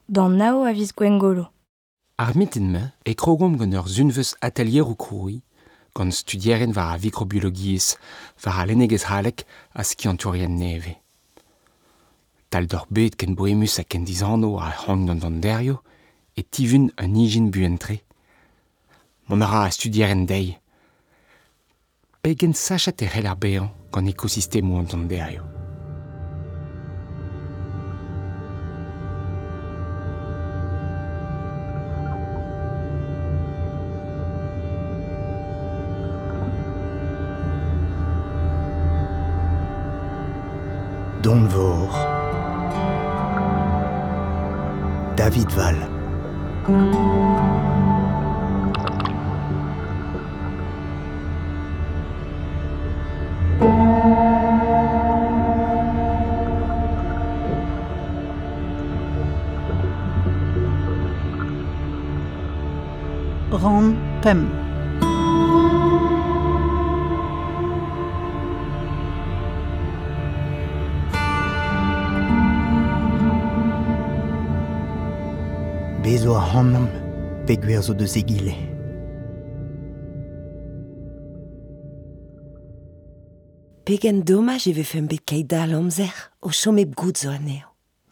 Dan nao a viz gwengolo. Ar mitten-me e krogom gant ur zunveus atelier o kroui, gant studieren war a microbiologiez, war a lennegez halek a skianturien neve. Tal d'or bet ken boemus a ken dizanno a c'hant gant an derio, e tivun un ijin buentre. Mon ara a studieren dei. Pegen sachat e c'hell ar behan gant ekosistemo an derio. Don Vor, David Val. Ran Pem. Bezo a hannam, peguer zo deus egile. Pegen dommaj e vez bet kait dal amzer o chomep gout zo aneo.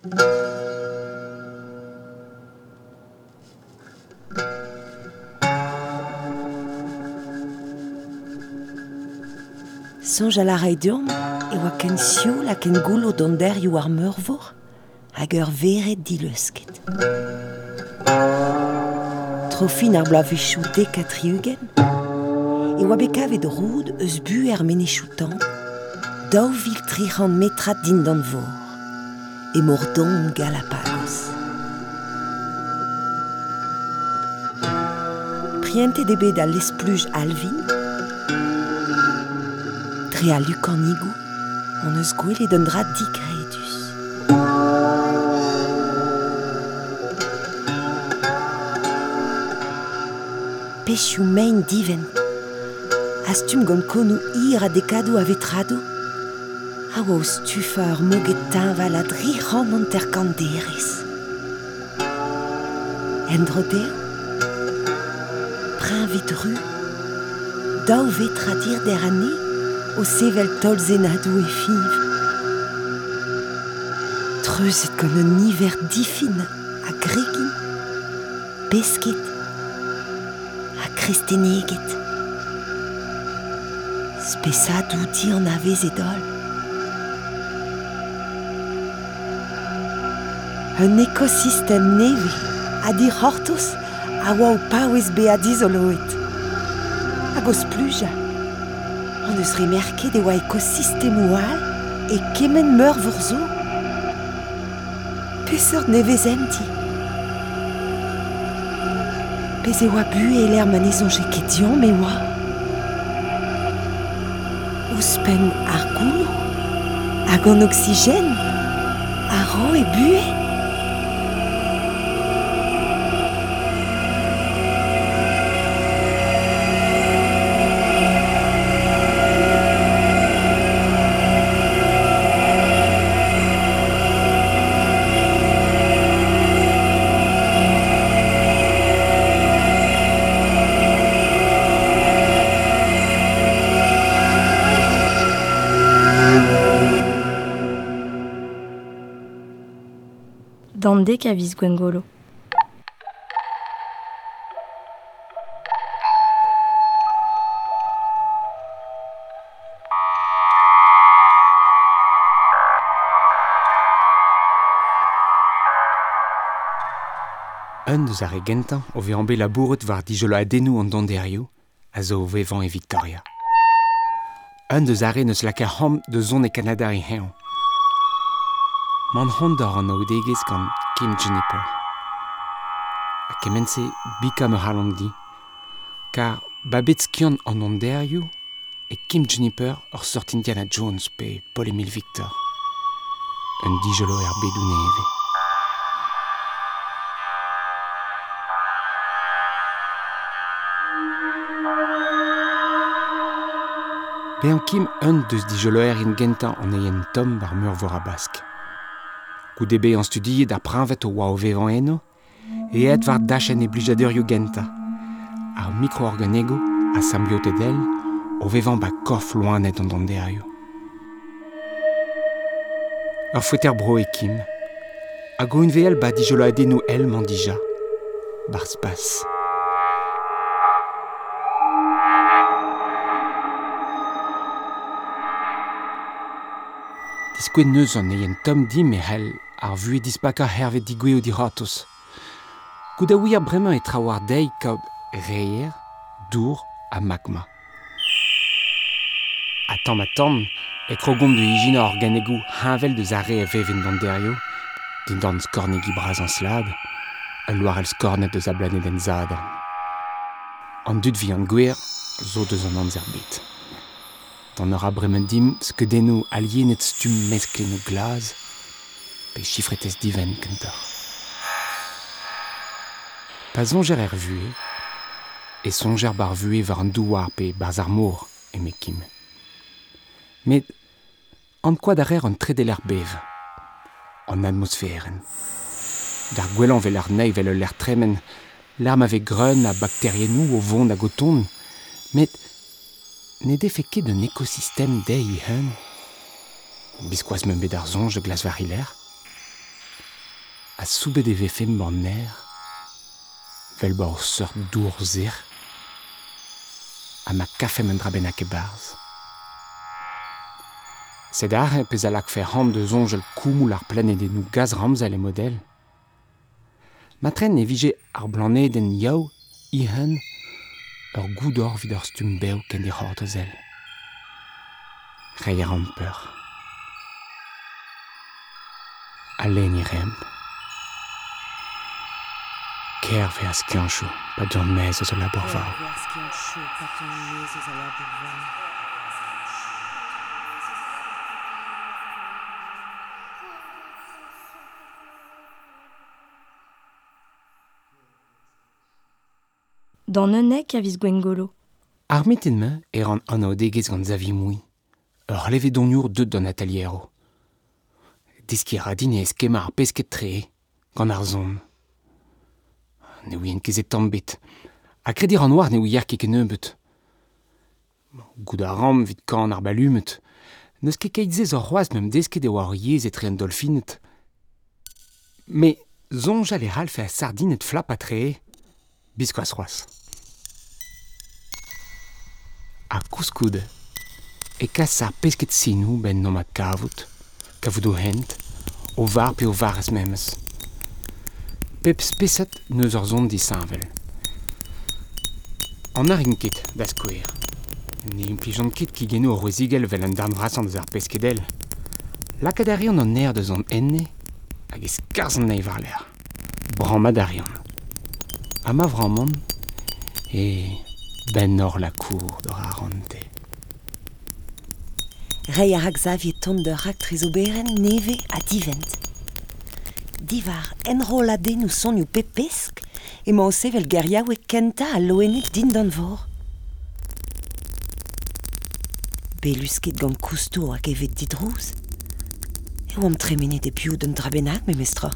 Sonj a la rai durm e oa ken sioul a ken goul o donderioù ar meurvor hag ur veret dileusket. Trofin ar blavichou dekatriugen e oa bet kavet roud eus bu er menechoutan daou vil 300 metrat din d'an vor e mordon Galapagos. Priente de bet a l'espluj Alvin tre a lukan igou on eus gwelet un dra digredus. Pechioù mein diven. Astum gant konou ir a dekado a vetrado. A oa o stufa ur moget tañval a 300 anterkanderez. Endrodeo, prinvit ru, daou vetra dir der ane o sevel tolzenadou e fiv. Treuzet gant un niver difin a gregin, pesket, a kresteneget. Spesadou di an avez edol. Un ekosistem neve a dir hortos a oa o paouez be a dizoloet. Hag oz pluja, an eus remerket e oa ekosistem oual e kemen meurvor zo. Peseurt nevez emti. Pez e oa bu e l'er manezonje ket diom e oa. Ouspen ar goulo, hag an oxygène, a ro e bue. Dan dek a viz gwengolo. Un deus ar gentañ o vez ambe labouret war dijolo adennoù an donderioù a zo o vevan e Victoria. Un deus are neus lakaer c'homp de zon e Kanada e heñv. Man c'hondor an aoudegez gant Kim Juniper. A kemense bika me c'hallan di, kar babet skiant an donderioù e Kim Juniper ur sort Indiana Jones pe Paul Emile Victor. Un dijolo er bedou neve. Pe an Kim un deus dijolo in gentañ an eien tom war meurvor a bask. Goudebe en studie da prinvet o oa o vevan eno, et Edvard dachen e blijadeurioù genta. Ar micro-organego a symbiote d'el o vevan ba korf loanet an donderioù. Ur foueter bro e kim. A goun veel ba dijolo adenou el mandija. Bar spas. Diskouet neus an eien tom di me hel ar vue dispaka hervet digweo di ratos. Gouda ouier bremañ e trawar dei kaout reier, dour a magma. A tamm, e krogom de hijina organegou havel de zare e veven donderio, din dan skornegi braz an slad, al loar el skornet deus a blanet en zadran. An dud vi an gwer, zo deus an anzerbet. Dan ur a bremañ dim, skedenno alienet stum mesklen o glaz, pe chifretez diven kentor. Pa songer er vue, e songer bar vue war an douar pe bar ar mor e mekim. Met an koad ar an tredel er bev, an atmosferen. D'ar gwelan vel ar neiv vel l'er tremen, l'arm ave greun a bakterienou o vont a goton, met ne defe ket d'un écosystème dei i hen. Biskoaz meun bet ar zonj glas var iler. A soubet e vefem ban ner, vel ba o seurt dour zir, a ma kafem un drabenak e barz. Sed ar pez a lak fer ham de zonjel koumoul ar planet en nou gaz ramzel e model. Matren ne vije ar blanet en yaou, i hen, ur goudor vid ur stum beo ken de c'hortozel. Reier an peur. Alen i rem. Ker ve a skianchou, pa d'ur mez eus o labourvao. Dan neunek a viz Gwengolo. Ar mitenn-me an anaodegez gant zavi moui. Ur leve doniour deud d'an ateliero. Deskiñ a din e eskema ar pesket tre, gant ar zon. Ne ouien kezet tamm-bet. A kredir an oar ne ouier ket nebeut. Goud a ram vid kan ar balumet. Neus ket keitzez ur c'hoaz mem desket e oar yez etre an dolfinet. Me zonjal e ralfe a sardinet flap a tre, biskoaz c'hoaz. A kouskoud, e kas ar pesket sinou ben nom a kavout o hent, o var pe o varez memes. Pep speset neus ur zon disanvel. An ar inket da skouer. Ne implijant ket ki geno o roezigel vel an darn vrasan deus ar peskedel. Lakadarion an air deus an enne, hag e skarzh an neiv ar ler. Bramadarion. Ha ma vramon, e ben hor la cour d'or ar rante. Rei ar Xavier tont d'ur rak trezoberen neve a divent. Divar enroladennoù sonioù pepesk, emañ o sevel geriaou e kenta a loenet din d'an vor. Belusket gant koustou hag evet didrouz. E oam tremenet e piou d'un drabenak, me mestra.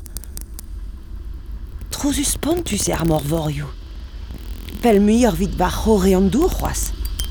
Trouzus pantus e ar morvorioù. Pel muier vid bar c'hore an dour c'hoaz.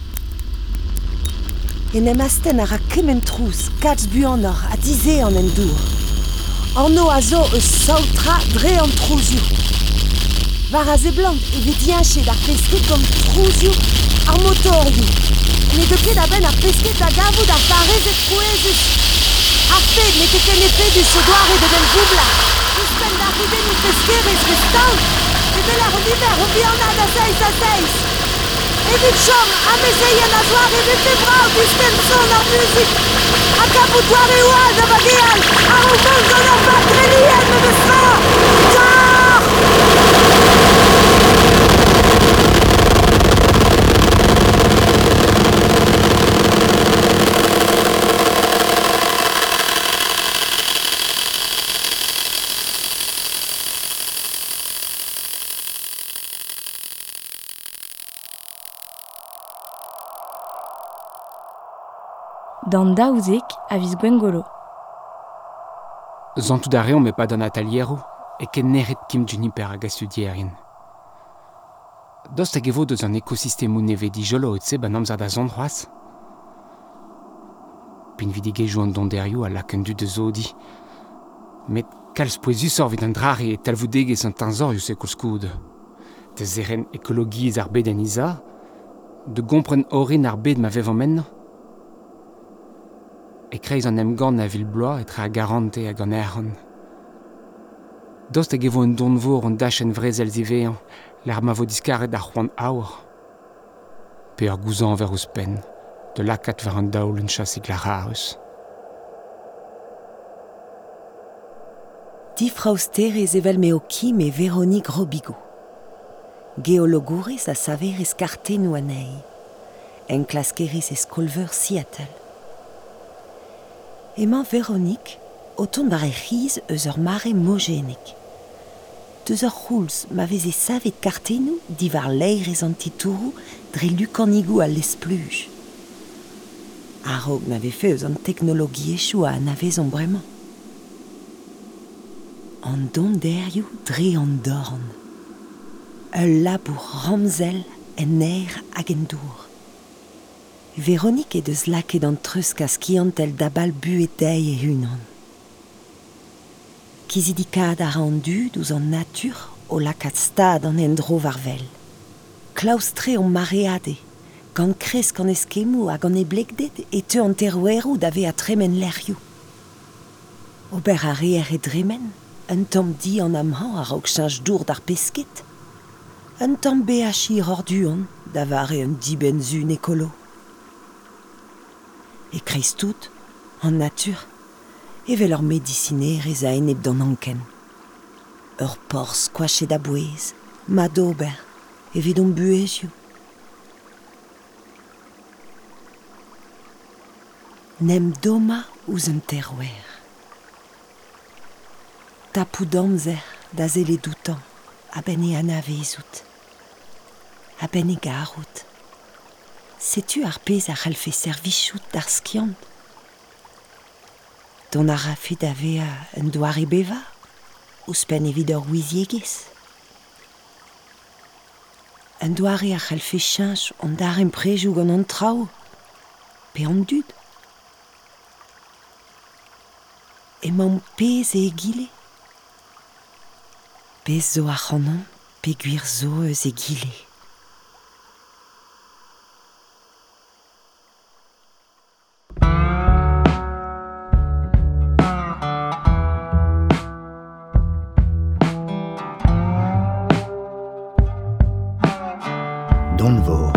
En em asten a ra kemen trouz, katz buanor a dize an en dour. Anno a zo eus saotra dre an trouzioù. Var a zeblant e vet yanchet ar pesket gant trouzioù ar motorioù. Ne de ket a ben ar pesket a gavout ar farez et trouezus. Ar fed ne ket ken e fedus o doare de den boubla. Ouspen da rouden ou peskerez restant. E vel ar oliver o bianad a seiz. Evit chom, a mezeien a zoar evit febrao disken son ar muzik. A kapoutoar e oaz a bageal, ar o mont gant ar patrelien me deus fa. Dan daouzek a viz Gwengolo. Zantudare on met pas d'un ateliero, et ken neret kim juniper hag a studierien. Dost hag evo deus an ekosistemmoù neve dijolo et se ban amzer da zondroaz. Pin vidigejou an donderioù a laken du de zodi. Met kalz poezus vid an drare et talvoudegez an tanzorioù se koulskoud. De zeren ekologiez ar bed en isa, de gompren orin ar bed ma vev an menno. E kreiz an emgant na Villeblois etre a garante hag an erron. Dost hag evo un donvor an dachen vrezel zivean, l'ar ma vo diskaret ar c'hoant aour. Pe ur gouzan ver ouz pen, de lakat ver an daoul un chasig la raus. Difrausterez evel meo Kim e Véronique Robigo. Geologourez a saverez kartennou anei. Enklaskerez e skolveur Seattle. Emañ Véronique, oton bar e c'hiz eus ur mare mogénik. Deus ur c'houlz ma vez e savet kartennou divar leirez an titourou dre lukanigou a lespluj. A-raok na vez feuz an teknologi echou a anavezon bremañ. An donderioù dre an dorn. Ul labour ramzel en aer hag en dour. Véronique e deus laket an treusk a skiantel dabal buet dei e unan. Kizidikad a ran dud ouz an natur o lakat stad an endro varvel. Klaustre on mareade, gant kresk an eskemou hag an eblekdet e teu an terouerou da ve a tremen lerioù. Ober a reer e dremen, un tamm di an amhan a raok chanj dour d'ar pesket. Un tamm beachi orduan da vare un diben zun ekolo. E kreiz tout, an natur, evel ur medicinerez a enep d'an anken. Ur por skoachet da bouez, ma d'ober, evit on buezioù. Nem doma ouz un terouer. Tapou d'amzer da zele doutan, a ben e anavezout. A ben e garout. Setu ar pez a c'hall fe servichout d'ar skiant. Don a rafe da vea un doare beva, ouz pen evit ur ouiziegez. Un doare a c'hall fe chanj an dar emprejoù gant an trao, pe an dud. Emañ pez e egile. Pez zo a c'hanon, pe gwir zo eus egile. Donvor.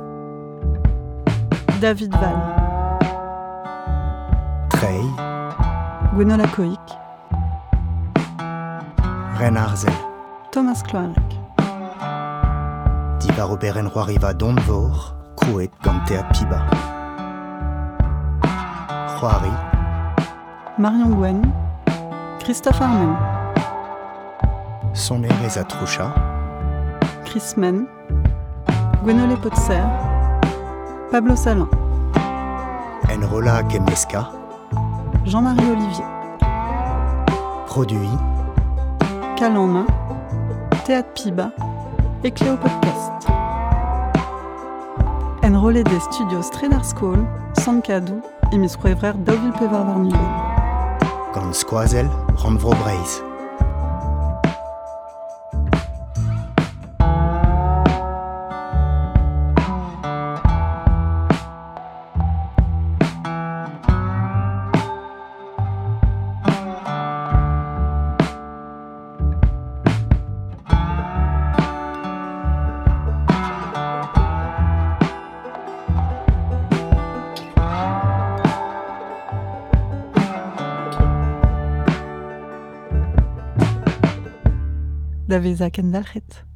David Val, Trey. Gwenola Coic, Ren Arzel. Thomas Cloarec, Divar oberen roariva Donvor, krouet gant teat piba. Roari. Marion Gwen, Christophe Armen, Sonerez a Troucha. Chris Men, Gwenole Potser, Pablo Salin, Enrola Kemeska. Jean-Marie Olivier, Produit. Cal en main, Théâtre Piba et Cléo Podcast. Enrôlé des studios Stredar School, Sankadou et Miss Roevrer Deauville Pevar Varnuven. Gant skoazel, Ranvro Breiz. Daveza Kendalchet.